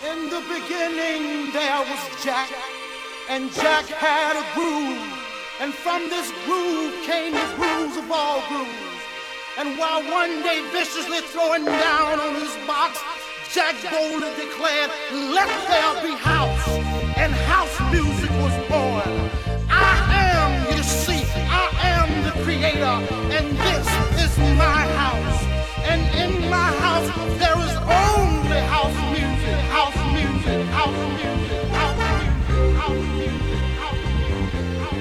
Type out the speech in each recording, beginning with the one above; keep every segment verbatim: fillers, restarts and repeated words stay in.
In the beginning there was Jack, and Jack had a groove, and from this groove came the grooves of all grooves. And while one day viciously throwing down on his box, Jack boldly declared, "Let there be house," and house music was born. I am, you see, I am the creator, and this is my house. And in my house there is only house music, house music, house music, house music, house music, house music, house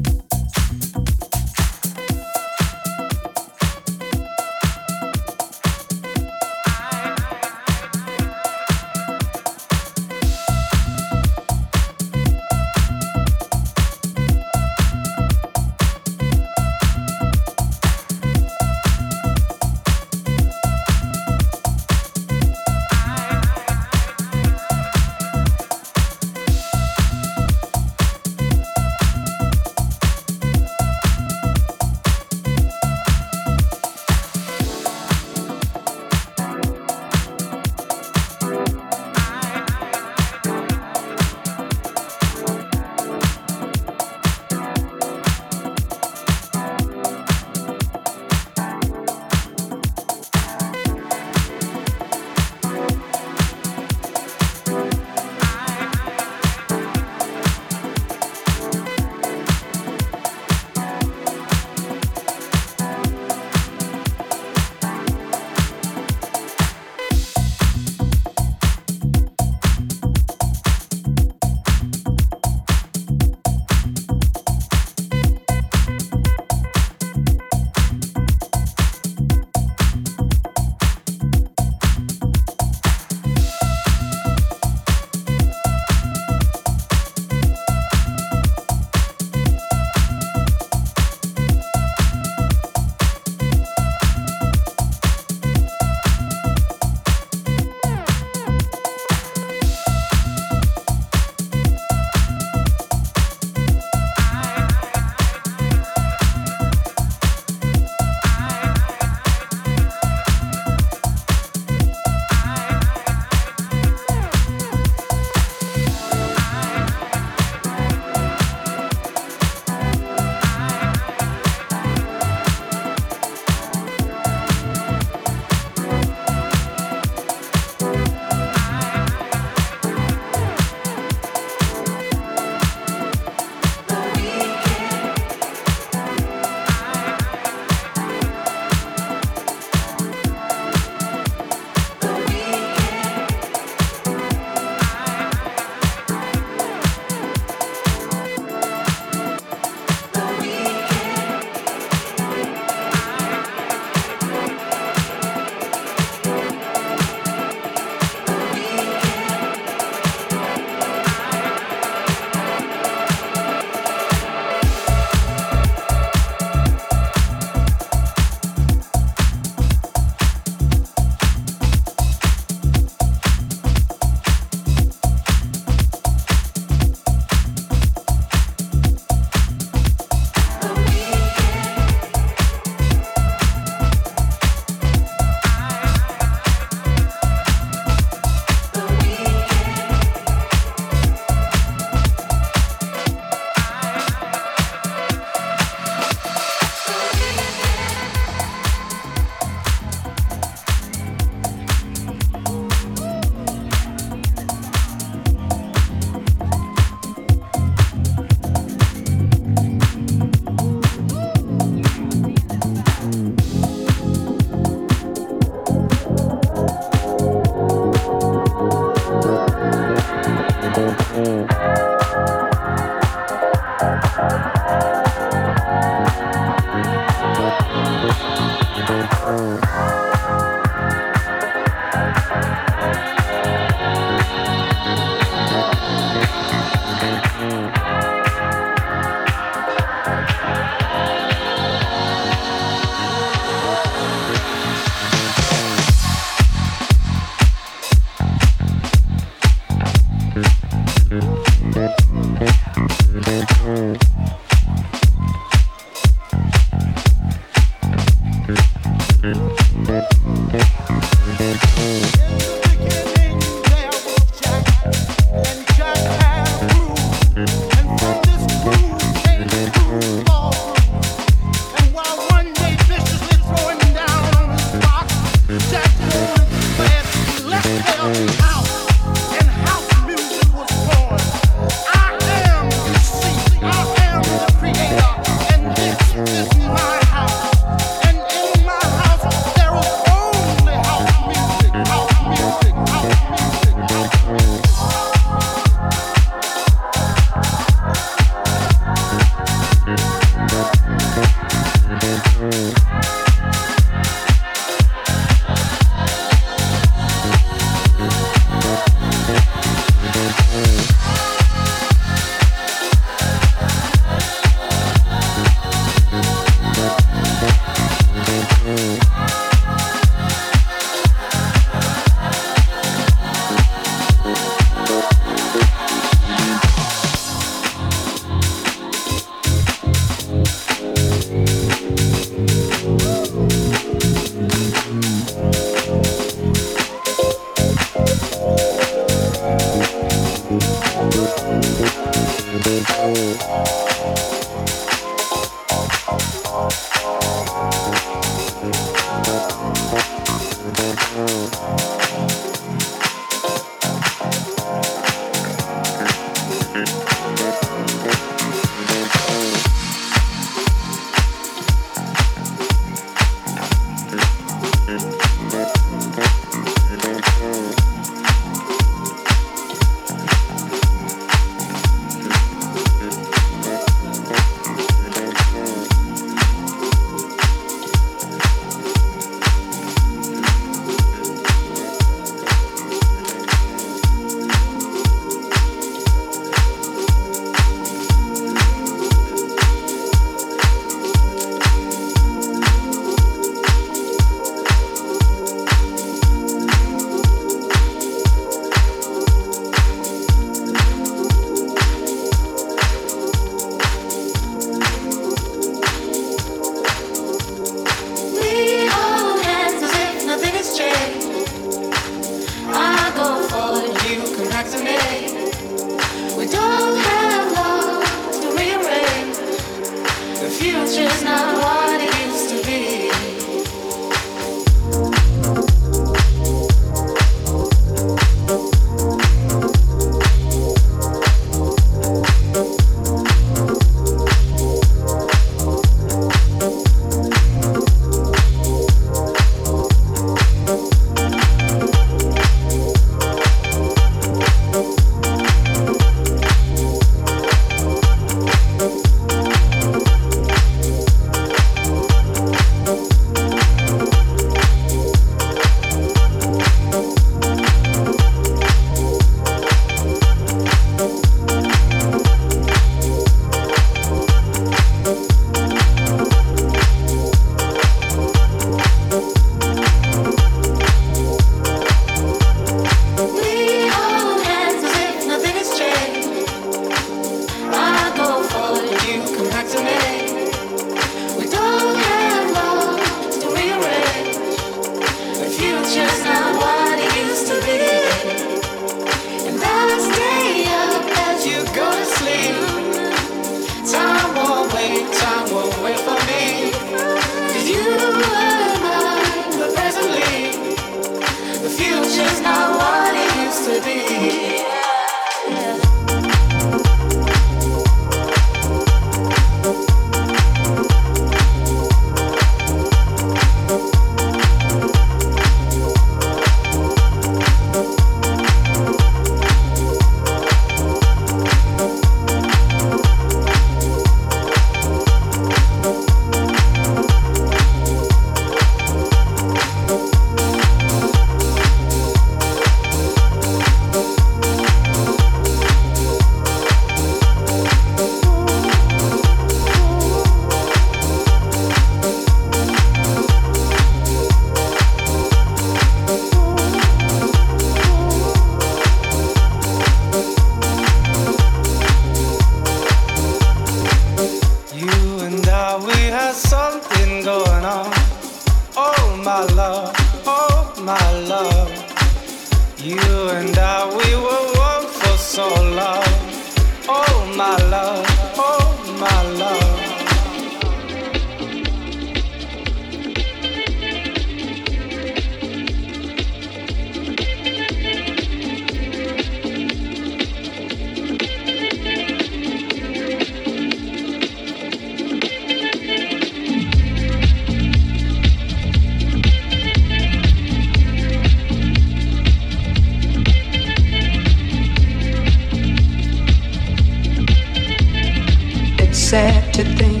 sad to think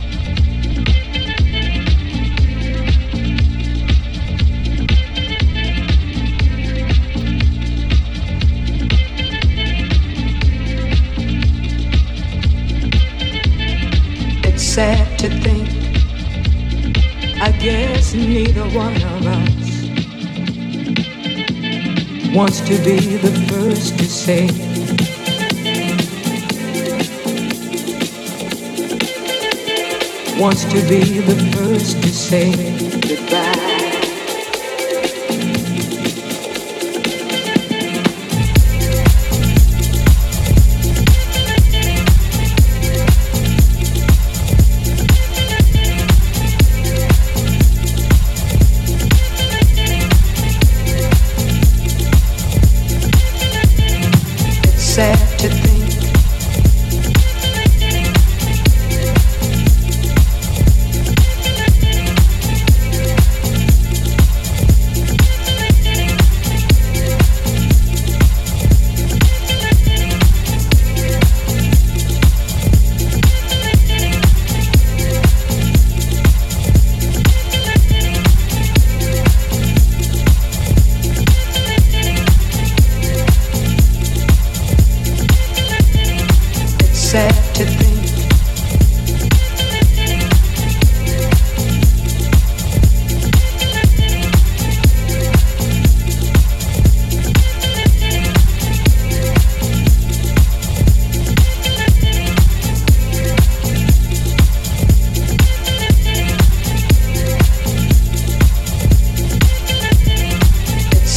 it's sad to think I guess neither one of us wants to be the first to say wants to be the first to say goodbye.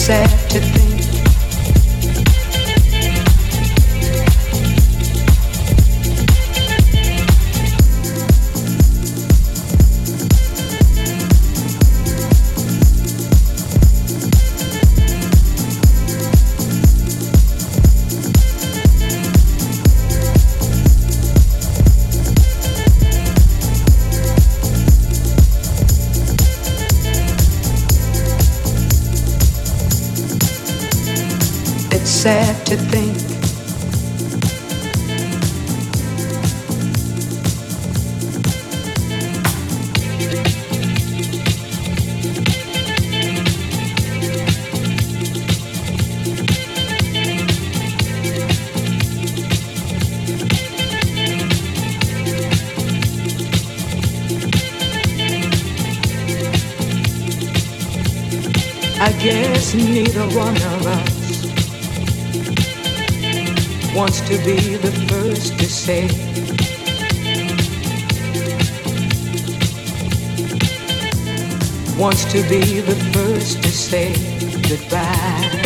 sad to think sad to think I guess neither one of us wants to be the first to say wants to be the first to say goodbye.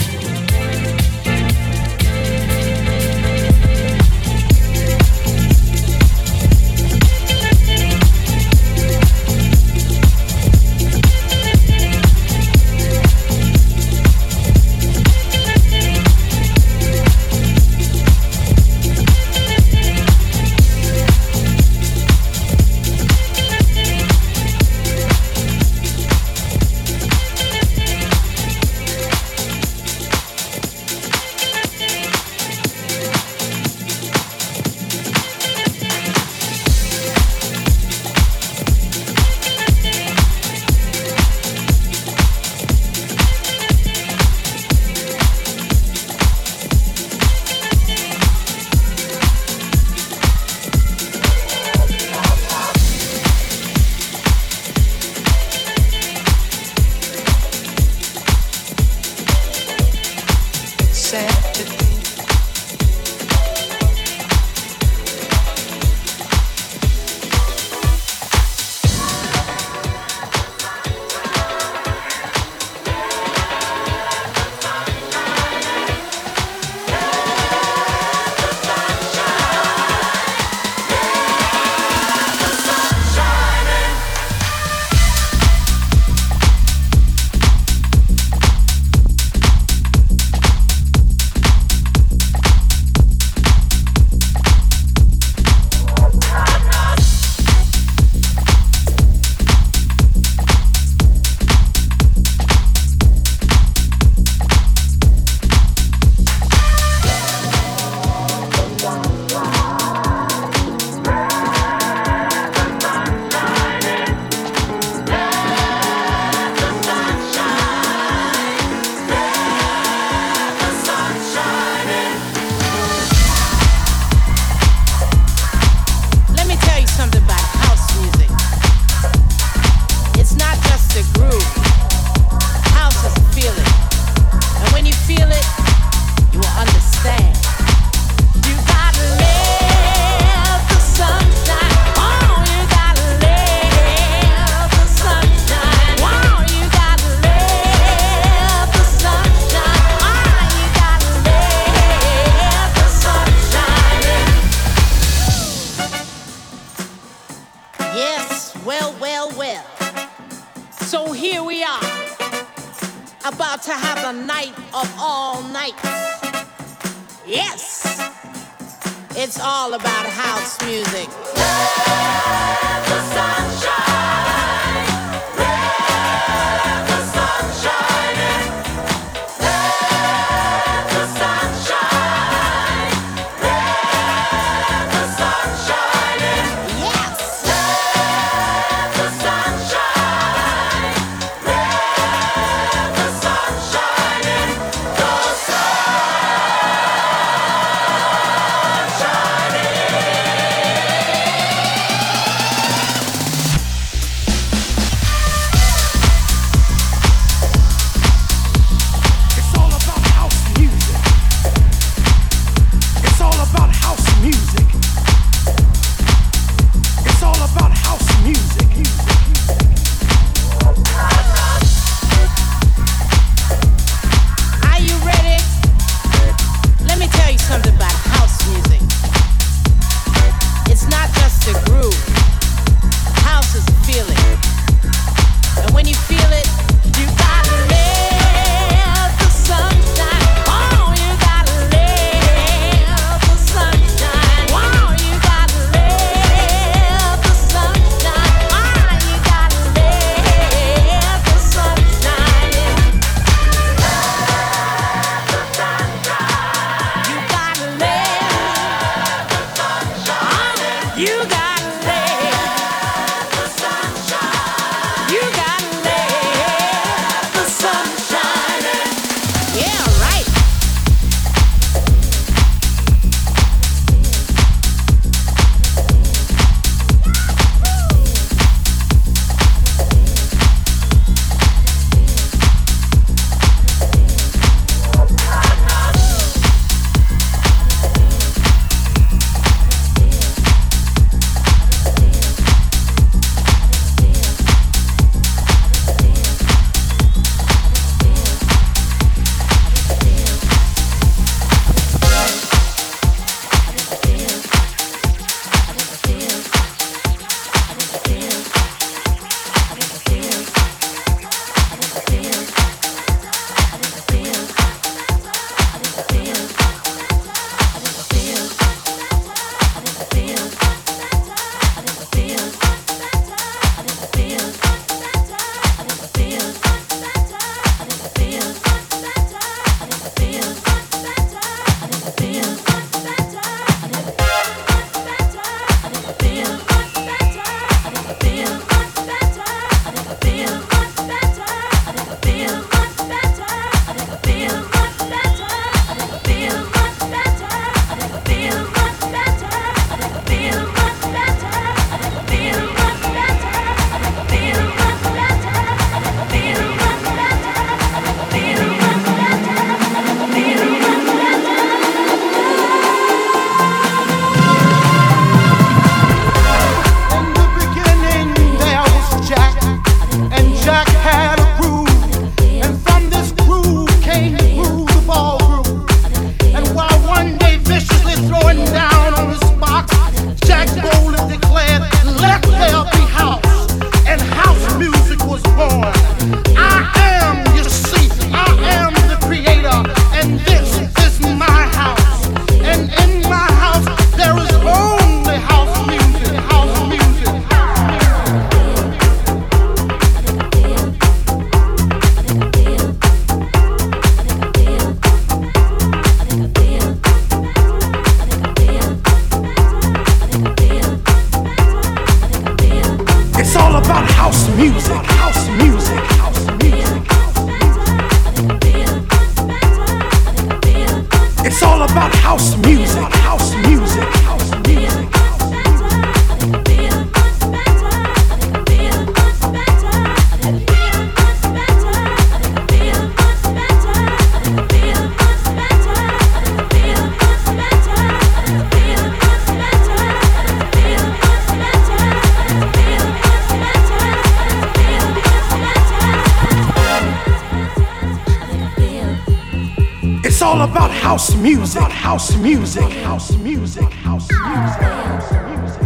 It's all about house music, house music, house music, house music.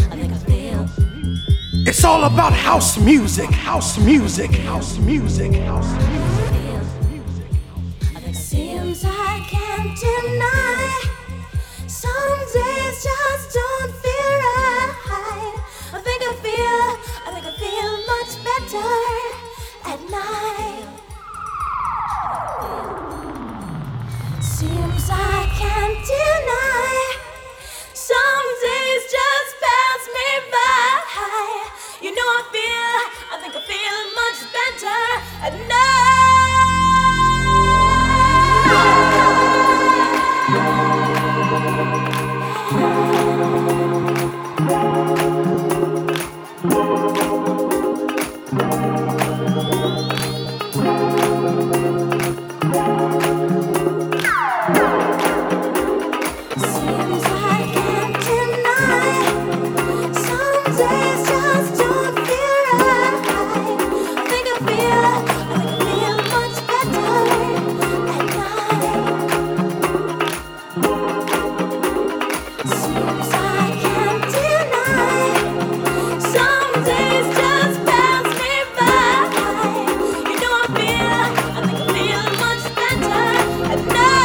It's all about house music, house music, house music, house music. Seems I can't deny. Some days just don't feel right. I think I feel, I think I feel much better at night. Seems I can't deny. Some days just pass me by. You know I feel, I think I feel much better at night. Seems I can't deny. Some days just don't feel right. I think I feel, I think I feel much better at night. Seems I can't deny. Some days just pass me by. You know I feel, I think I feel much better at night.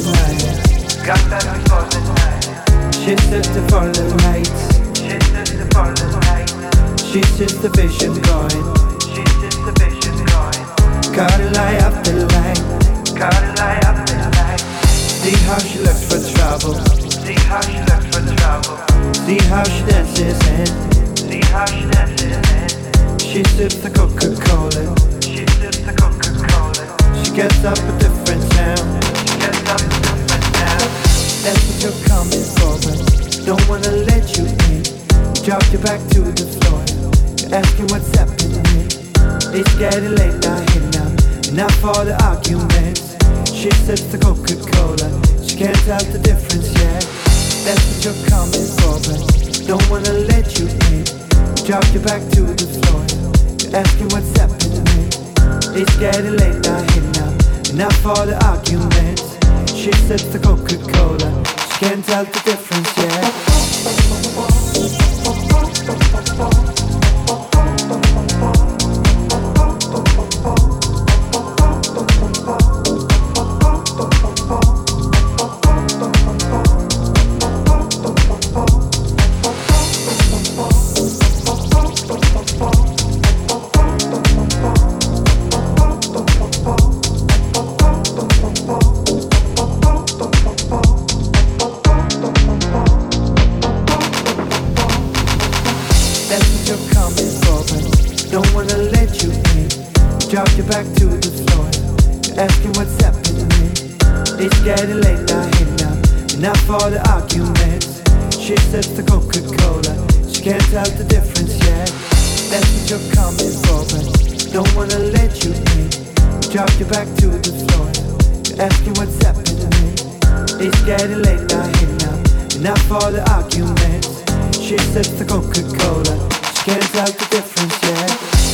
night. Got that before the night. She says to follow the light. She says to follow the light. She sees the vision going. She sees the vision going. Gotta lie up the line. Gotta lie up the line. See how she looks for trouble. See how she looks for trouble. See how she dances in. See how she dances in. She sips the Coca-Cola. She sips the Coca-Cola. She gets up a different sound. She gets up a different sound. That's what you're coming for, but don't wanna let you in. Drop you back to the floor. You're asking what's happening. It's getting late now, here now. Enough for the arguments. She sips the Coca-Cola. She can't tell the difference yet. That's what you're coming for, but don't wanna let you in. Drop you back to the floor. You're asking what's happening. It's getting late now, here now. Enough for the arguments. She sips the Coca-Cola. She can't tell the difference yet. Back to the floor. You're asking what's happening. It's getting late now, here now. Enough for the arguments. She sips the Coca-Cola. She can't tell the difference yet. That's what you're coming for, but don't wanna let you in. Drop you back to the floor. You're asking what's happening. It's getting late now, here now. Enough for the arguments. She sips the Coca-Cola. She can't tell the difference yet.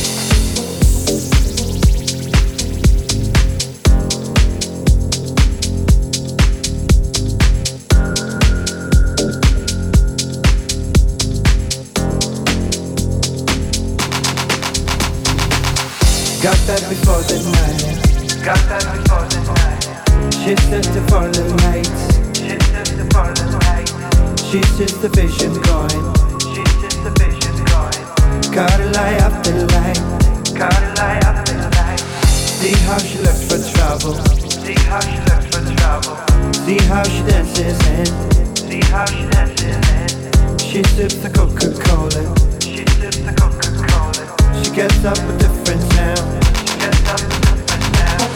Got that before the night. Got that before the night. She says to follow the light. She says to follow the light. She sees the vision going. She sees the vision going. Gotta lie up the line. Gotta lie up the line. See how she looks for trouble. See how she looks for trouble. See how she dances in. See how she dances in. She sips the Coca-Cola. She sips the Coca-Cola. She gets up a different sound. She gets up a different sound.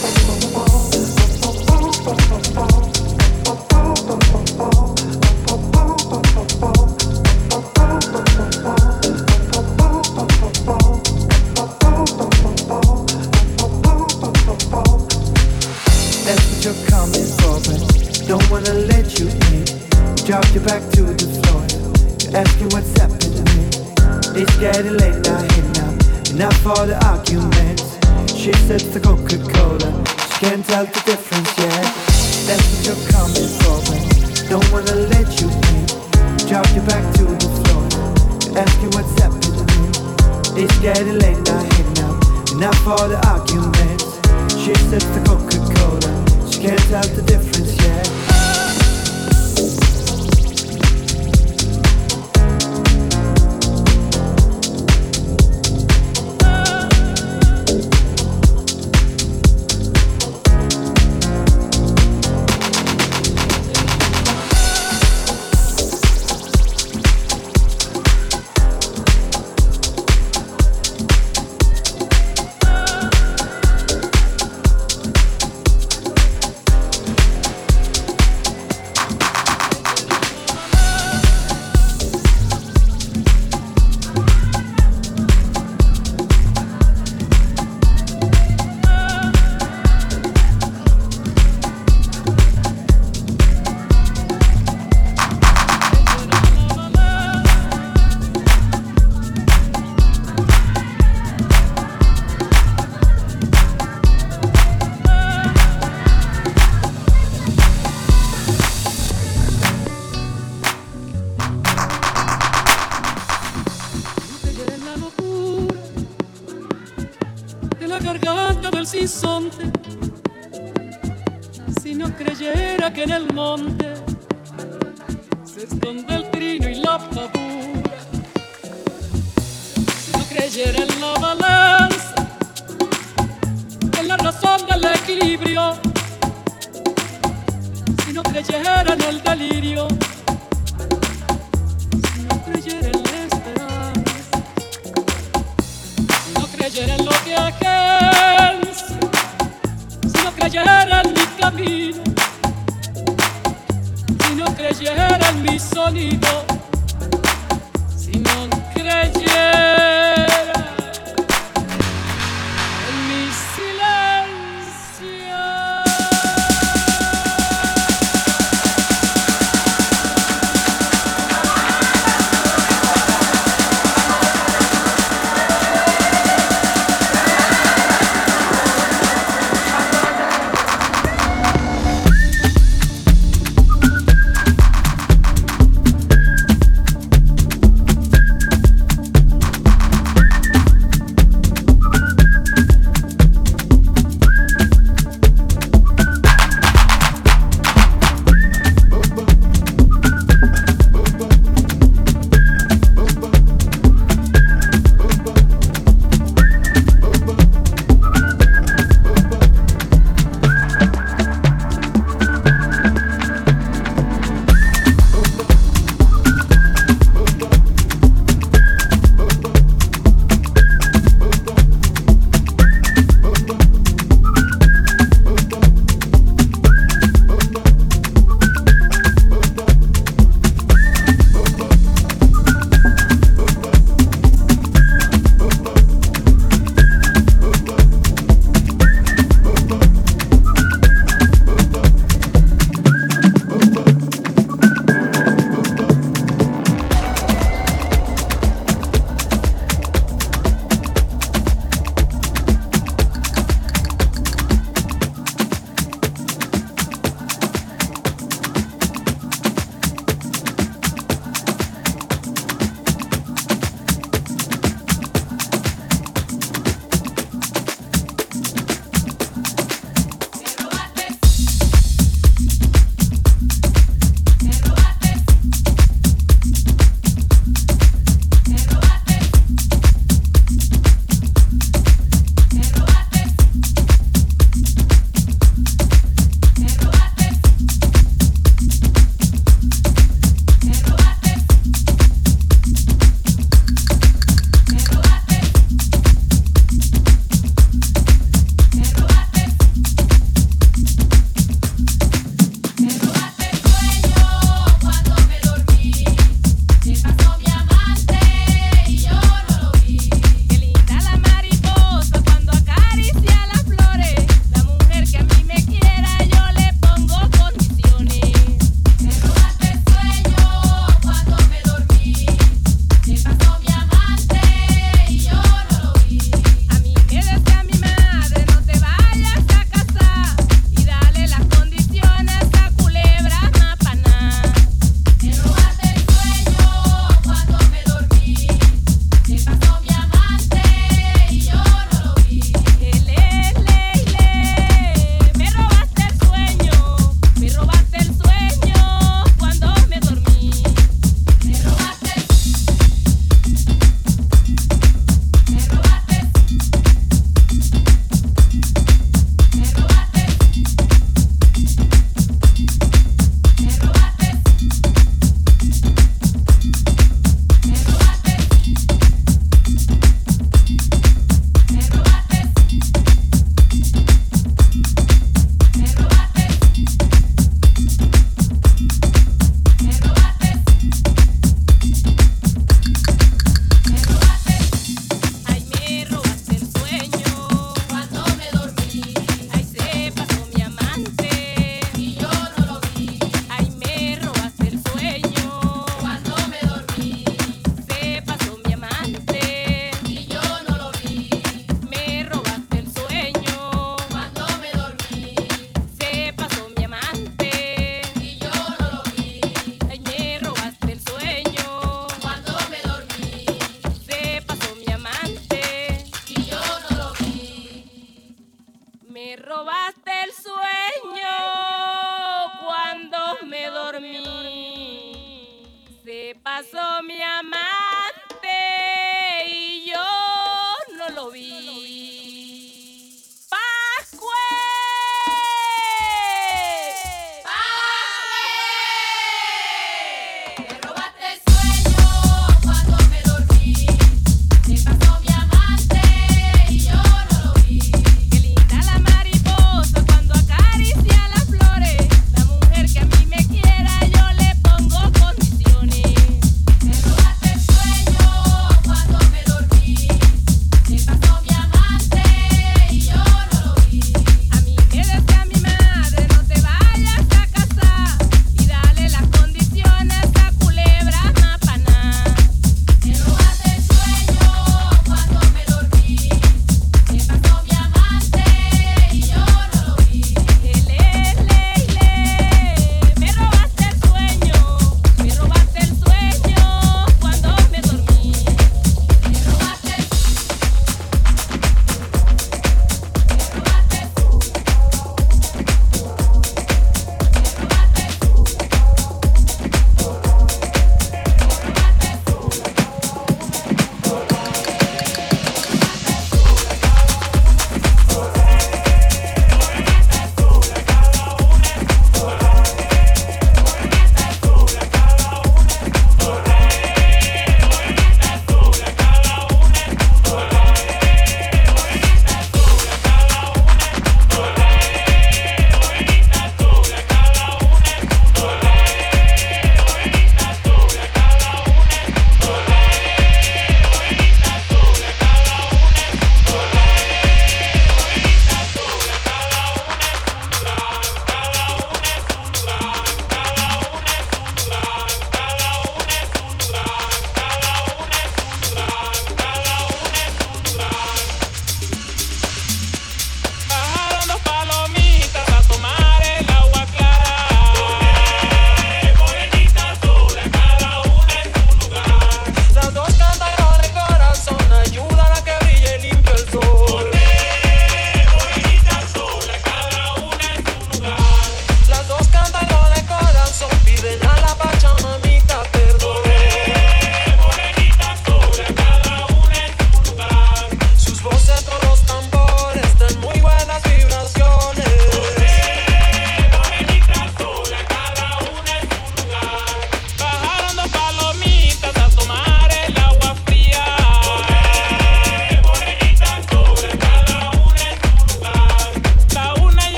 That's what you're coming for, but don't wanna let you in. Drop you back to the floor. You're asking what's happening. It's getting late now, here now. Enough for the arguments. She sips the Coca-Cola. She can't tell the difference yet. That's what you're coming for, but don't wanna let you in. Drop you back to the floor. You're asking what's happening. It's getting late now, here now. Enough for the arguments. She sips the Coca-Cola. She can't tell the difference yet. creyera que en el monte se esconde el trino y la pavura, si no creyera en la balanza, en la razón del equilibrio, si no creyera en el delirio, si no creyera en la esperanza, si no creyera en lo que agencia, si no creyera en mi camino, si no creyera en mi sonido, si no creyera en mi silencio. pasó mi amante y yo no lo vi. ¡Pascue! ¡Pascue! Me robaste el sueño cuando me dormí. Me pasó mi amante y yo no lo vi. Qué linda la mariposa cuando acaricia las flores. La mujer que a mí me quiera yo le pongo condiciones.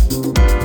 Thank